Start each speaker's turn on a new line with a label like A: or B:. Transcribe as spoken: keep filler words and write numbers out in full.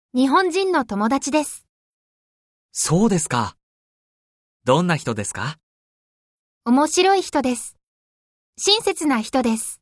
A: 日本人の友達です。
B: そうですか。どんな人ですか？
A: 面白い人です。親切な人です。